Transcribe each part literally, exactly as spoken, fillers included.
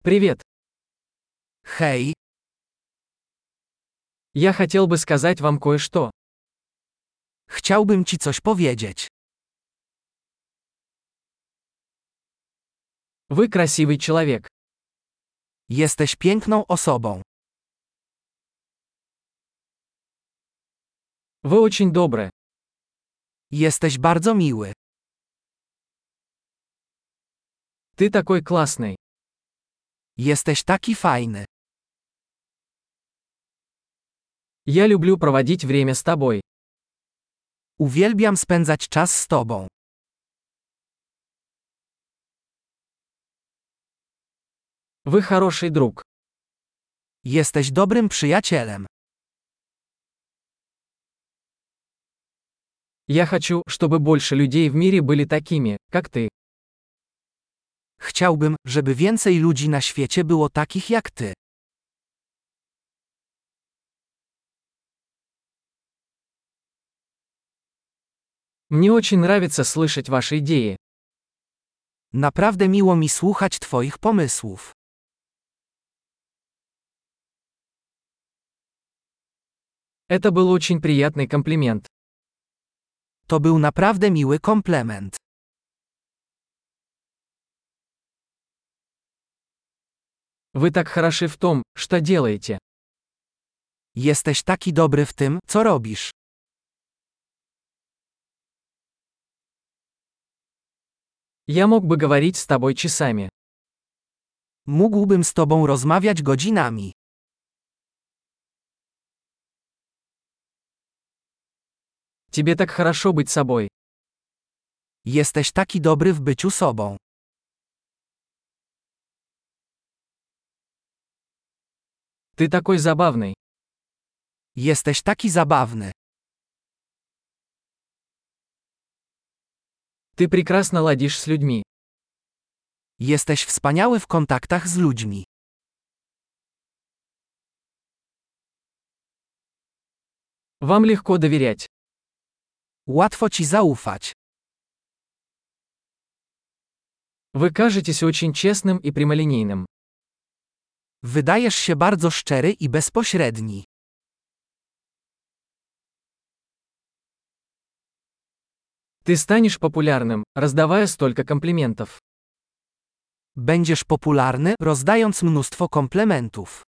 Привет. Hej, Я хотел бы сказать вам кое-что. chciałbym ci coś powiedzieć. Вы красивый человек. Jesteś piękną osobą. Вы очень добры. Jesteś bardzo miły. Ты такой классный. Jesteś taki fajny. Я люблю проводить время с тобой. Uwielbiam spędzać czas z tobą. Вы хороший друг. Jesteś dobrym przyjacielem. Я хочу, чтобы больше людей в мире были такими, как ты. Chciałbym, żeby więcej ludzi na świecie było takich jak ty. Мне очень нравится слышать ваши идеи. Naprawdę miło mi słuchać twoich pomysłów. Это был очень приятный комплимент. To był naprawdę miły komplement. Вы так хороши в том, что делаете. Jesteś taki dobry w tym, co robisz. Я мог бы говорить с тобой часами. Mógłbym z tobą rozmawiać godzinami. Тебе так хорошо быть собой. Jesteś taki dobry w byciu sobą. Ты такой забавный. Jesteś taki zabawny. Ты прекрасно ладишь с людьми. Jesteś wspaniały w kontaktach z ludźmi. Вам легко доверять. Łatwo ci zaufać. Вы кажетесь очень честным и прямолинейным. Wydajesz się bardzo szczery i bezpośredni. Ты станешь популярным, раздавая столько комплиментов. Będziesz popularny, rozdając mnóstwo komplementów.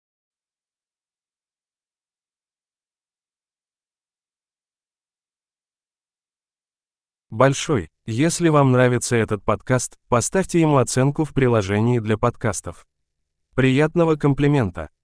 Большой. Если вам нравится этот подкаст, поставьте ему оценку в приложении для подкастов. Приятного комплимента!